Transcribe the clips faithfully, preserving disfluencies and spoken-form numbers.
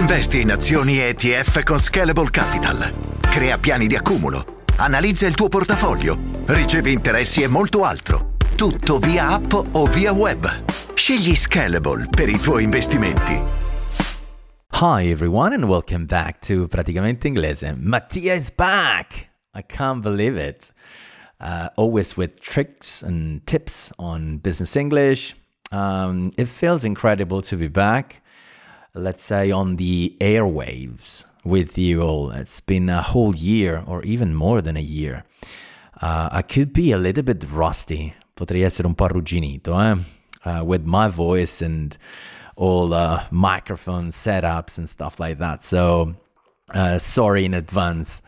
Investi in azioni E T F con Scalable Capital. Crea piani di accumulo. Analizza il tuo portafoglio. Ricevi interessi e molto altro. Tutto via app o via web. Scegli Scalable per i tuoi investimenti. Hi everyone and welcome back to Praticamente Inglese. Mattia is back! I can't believe it. Uh, always with tricks and tips on business English. Um, it feels incredible to be back. Let's say on the airwaves with you all. It's been a whole year or even more than a year. Uh, I could be a little bit rusty. Potrei essere un po' arrugginito, eh? Uh, with my voice and all uh, microphone setups and stuff like that. So, uh, sorry in advance.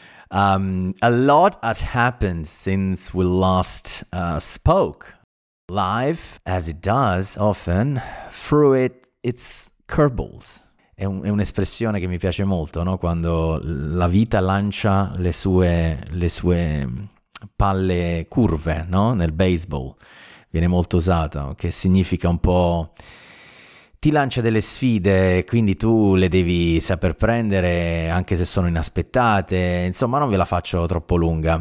Um, a lot has happened since we last uh, spoke. Life, as it does often, through it, it's curveballs. È, un, è un'espressione che mi piace molto, no? Quando la vita lancia le sue, le sue palle curve, no? Nel baseball viene molto usata, che significa un po' ti lancia delle sfide, quindi tu le devi saper prendere anche se sono inaspettate. Insomma, non ve la faccio troppo lunga.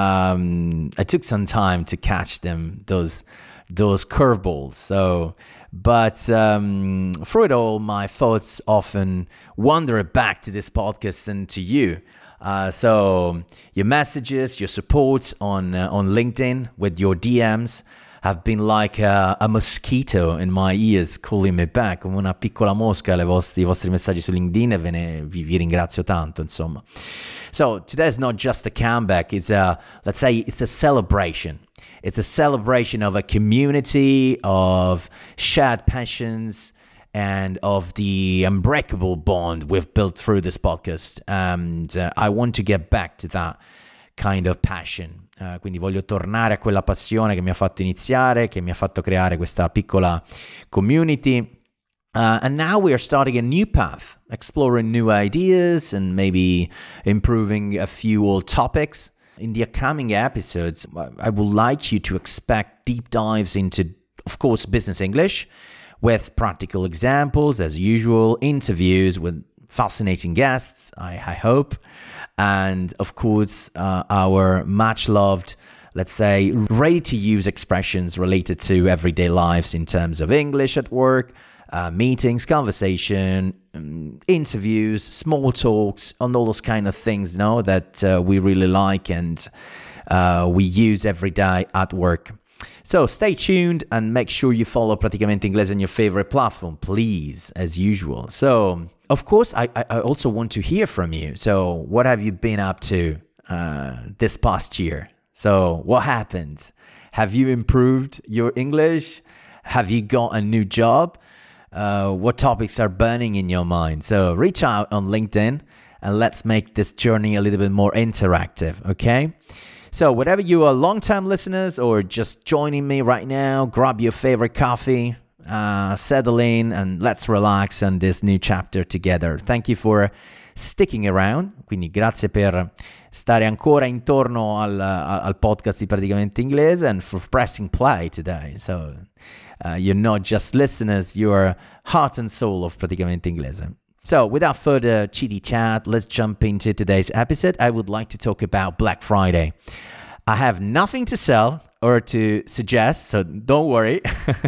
Um, I took some time to catch them, those those curveballs. So, but um, through it all, my thoughts often wander back to this podcast and to you. Uh, so, your messages, your supports on uh, on LinkedIn with your D Ms have been like a, a mosquito in my ears calling me back, come una piccola mosca alle vostri, i vostri messaggi su LinkedIn, e ve ne, vi, vi ringrazio tanto, insomma. So today is not just a comeback, it's a, let's say, it's a celebration. It's a celebration of a community, of shared passions, and of the unbreakable bond we've built through this podcast. And uh, I want to get back to that kind of passion. Uh, quindi voglio tornare a quella passione che mi ha fatto iniziare, che mi ha fatto creare questa piccola community. Uh, and now we are starting a new path, exploring new ideas and maybe improving a few old topics. In the upcoming episodes, I would like you to expect deep dives into, of course, business English, with practical examples, as usual, interviews with fascinating guests, I, I hope, and of course uh, our much loved, let's say, ready to use expressions related to everyday lives in terms of English at work, uh, meetings, conversation, um, interviews, small talks, and all those kind of things, you know, that uh, we really like and uh, we use every day at work. So stay tuned and make sure you follow Praticamente Inglese on your favorite platform, please, as usual. So, of course, I, I also want to hear from you. So what have you been up to uh, this past year? So what happened? Have you improved your English? Have you got a new job? Uh, what topics are burning in your mind? So reach out on LinkedIn and let's make this journey a little bit more interactive, okay? So whatever you are long-term listeners or just joining me right now, grab your favorite coffee, uh, settle in, and let's relax on this new chapter together. Thank you for sticking around. Quindi grazie per stare ancora intorno al, al podcast di Praticamente Inglese and for pressing play today. So uh, you're not just listeners, you're heart and soul of Praticamente Inglese. So without further chitty chat, let's jump into today's episode. I would like to talk about Black Friday. I have nothing to sell or to suggest, so don't worry.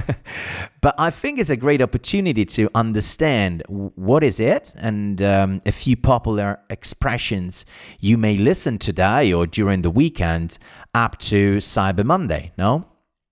But I think it's a great opportunity to understand what is it and um, a few popular expressions you may listen today or during the weekend up to Cyber Monday, no?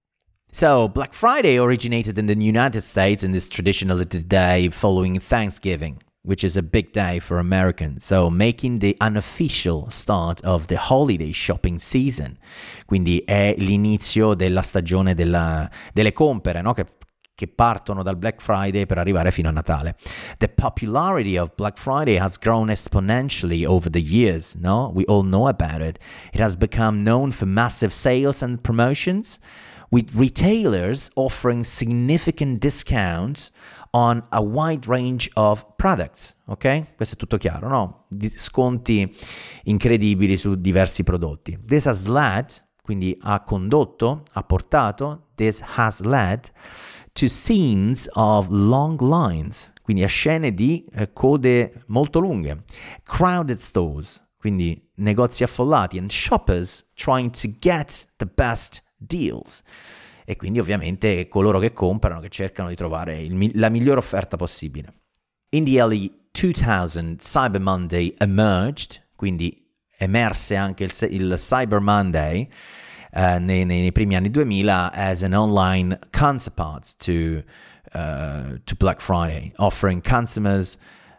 So, Black Friday originated in the United States and is traditionally the day following Thanksgiving, which is a big day for Americans, so making the unofficial start of the holiday shopping season. Quindi è l'inizio della stagione della, delle compere, no? Che, che partono dal Black Friday per arrivare fino a Natale. The popularity of Black Friday has grown exponentially over the years, no? We all know about it. It has become known for massive sales and promotions, with retailers offering significant discounts on a wide range of products, ok? Questo è tutto chiaro, no? Sconti incredibili su diversi prodotti. This has led, quindi ha condotto, ha portato, this has led to scenes of long lines, quindi a scene di eh, code molto lunghe, crowded stores, quindi negozi affollati, and shoppers trying to get the best deals. E quindi ovviamente coloro che comprano, che cercano di trovare il, la migliore offerta possibile. In the early two thousand, Cyber Monday emerged, quindi emerse anche il, il Cyber Monday uh, nei, nei primi anni duemila as an online counterpart to, uh, to Black Friday, offering consumers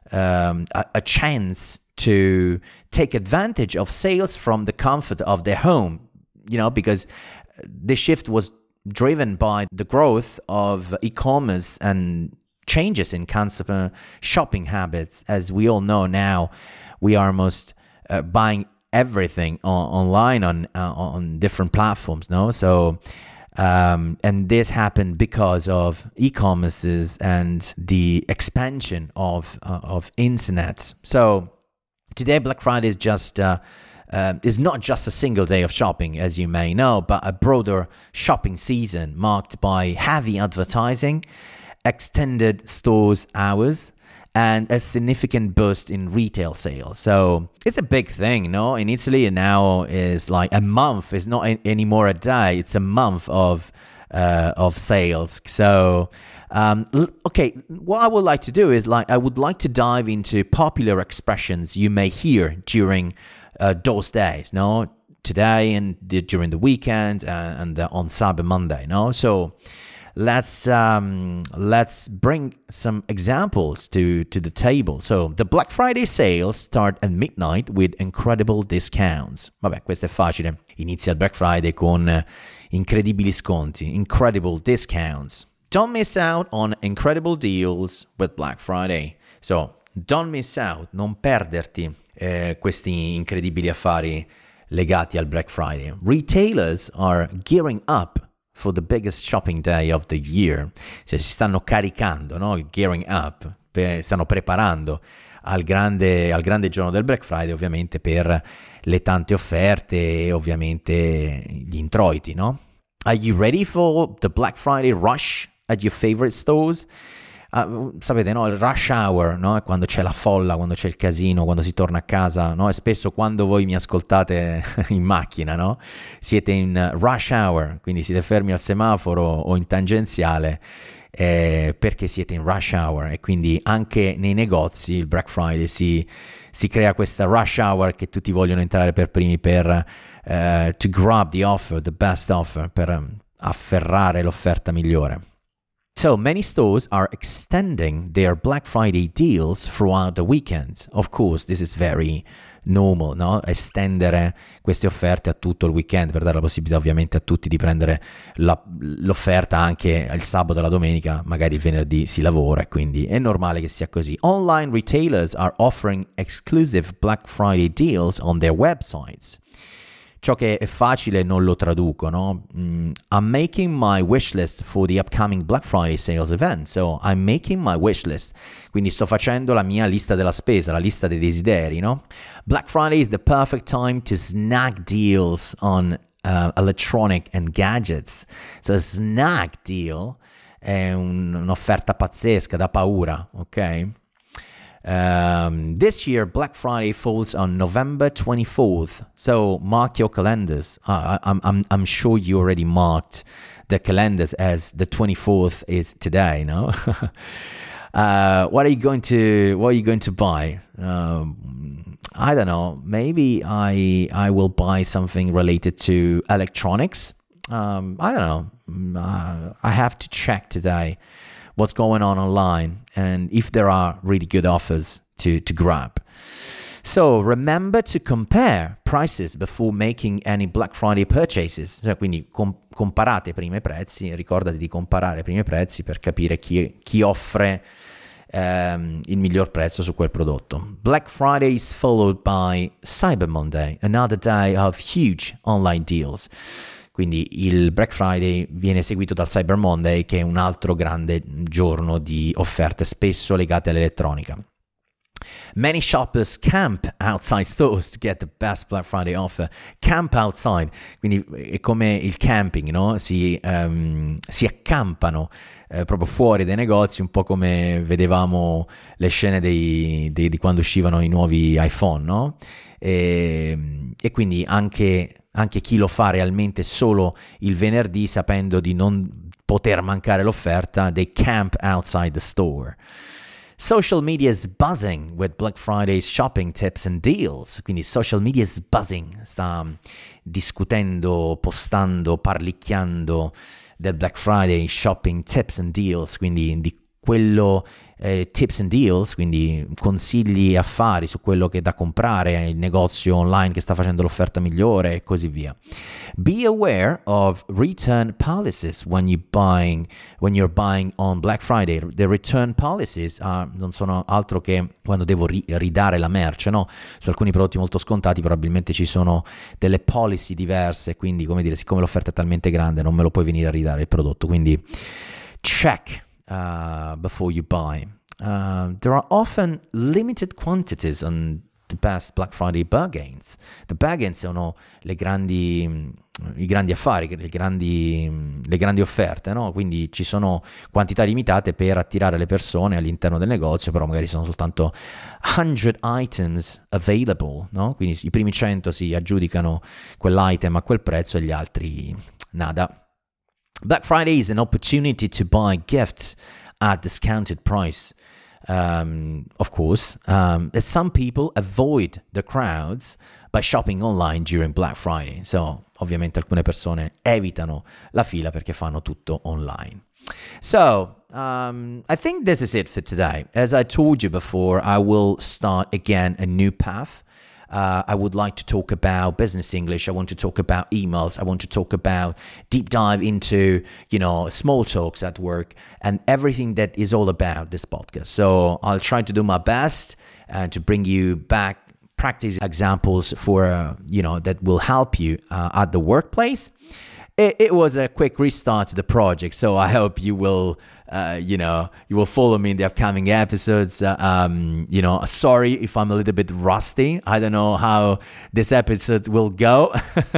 um, a, a chance to take advantage of sales from the comfort of their home, you know, because the shift was driven by the growth of e-commerce and changes in consumer shopping habits. As we all know now, we are almost uh, buying everything on, online on uh, on different platforms, no? So, um, and this happened because of e-commerces and the expansion of uh, of internet. So today, Black Friday is just uh, uh, is not just a single day of shopping, as you may know, but a broader shopping season marked by heavy advertising, extended stores hours, and a significant boost in retail sales. So it's a big thing, no? In Italy now is like a month. It's not anymore a day. It's a month of uh, of sales. So um, okay, what I would like to do is like I would like to dive into popular expressions you may hear during uh, those days, no? Today and the, during the weekend uh, and the, on Cyber Monday, no? So let's um, let's bring some examples to, to the table. So the Black Friday sales start at midnight with incredible discounts. Vabbè, questo è facile. Inizia il Black Friday con uh, incredibili sconti, incredible discounts. Don't miss out on incredible deals with Black Friday. So don't miss out, non perderti eh, questi incredibili affari legati al Black Friday. Retailers are gearing up for the biggest shopping day of the year. Cioè si stanno caricando, no? Gearing up, per, stanno preparando al grande, al grande giorno del Black Friday, ovviamente per le tante offerte e ovviamente gli introiti, no? Are you ready for the Black Friday rush at your favorite stores? Uh, sapete, no? Il rush hour, no? Quando c'è la folla, quando c'è il casino, quando si torna a casa, no? E spesso quando voi mi ascoltate in macchina, no? Siete in rush hour, quindi siete fermi al semaforo o in tangenziale eh, perché siete in rush hour, e quindi anche nei negozi il Black Friday si, si crea questa rush hour che tutti vogliono entrare per primi per uh, to grab the offer, the best offer, per um, afferrare l'offerta migliore. So many stores are extending their Black Friday deals throughout the weekend. Of course, this is very normal, no? Estendere queste offerte a tutto il weekend per dare la possibilità ovviamente a tutti di prendere la, l'offerta anche il sabato e la domenica, magari il venerdì si lavora, e quindi è normale che sia così. Online retailers are offering exclusive Black Friday deals on their websites. Ciò che è facile non lo traduco, no? Mm, I'm making my wish list for the upcoming Black Friday sales event. So I'm making my wish list. Quindi sto facendo la mia lista della spesa, la lista dei desideri, no? Black Friday is the perfect time to snag deals on uh, electronic and gadgets. So a snag deal è un, un'offerta pazzesca, da paura, ok? Um, this year, Black Friday falls on November twenty-fourth, so mark your calendars. Uh, I'm, I'm, I'm sure you already marked the calendars as the twenty-fourth is today, no? uh, what are you going to What are you going to buy? Um, I don't know. Maybe I I will buy something related to electronics. Um, I don't know. Uh, I have to check today what's going on online and if there are really good offers to, to grab. So remember to compare prices before making any Black Friday purchases. Cioè, quindi com- comparate prima i prezzi, ricordati di comparare prima i prezzi per capire chi, chi offre um, il miglior prezzo su quel prodotto. Black Friday is followed by Cyber Monday, another day of huge online deals. Quindi il Black Friday viene seguito dal Cyber Monday, che è un altro grande giorno di offerte, spesso legate all'elettronica. Many shoppers camp outside stores to get the best Black Friday offer. Camp outside, quindi è come il camping, no? Si, um, si accampano eh, proprio fuori dai negozi, un po' come vedevamo le scene dei, dei, di quando uscivano i nuovi iPhone, no? E, e quindi anche, anche chi lo fa realmente solo il venerdì, sapendo di non poter mancare l'offerta, they camp outside the store. Social media is buzzing with Black Friday's shopping tips and deals. Quindi social media is buzzing, sta discutendo, postando, parlicchiando del Black Friday shopping tips and deals, quindi di quello eh, tips and deals, quindi consigli e affari su quello che è da comprare, il negozio online che sta facendo l'offerta migliore e così via. Be aware of return policies when you buying when you're buying on Black Friday. The return policies uh, non sono altro che quando devo ri- ridare la merce, no? Su alcuni prodotti molto scontati probabilmente ci sono delle policy diverse, quindi come dire, siccome l'offerta è talmente grande non me lo puoi venire a ridare il prodotto, quindi check Uh, before you buy. Uh, there are often limited quantities on the best Black Friday bargains. The bargains sono le grandi, i grandi affari, le grandi, le grandi offerte, no? Quindi ci sono quantità limitate per attirare le persone all'interno del negozio, però magari sono soltanto cento items available, no? Quindi i primi cento si aggiudicano quell'item a quel prezzo e gli altri nada. Black Friday is an opportunity to buy gifts at discounted price. Um, of course, um, some people avoid the crowds by shopping online during Black Friday. So, ovviamente alcune persone evitano la fila perché fanno tutto online. So, um, I think this is it for today. As I told you before, I will start again a new path. Uh, I would like to talk about business English. I want to talk about emails. I want to talk about deep dive into, you know, small talks at work and everything that is all about this podcast. So I'll try to do my best uh, to bring you back practice examples for, uh, you know, that will help you uh, at the workplace. It, it was a quick restart to the project, so I hope you will, uh, you know, you will follow me in the upcoming episodes. Uh, um, you know, sorry if I'm a little bit rusty. I don't know how this episode will go.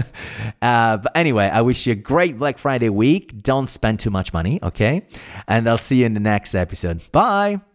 uh, but anyway, I wish you a great Black Friday week. Don't spend too much money, okay? And I'll see you in the next episode. Bye.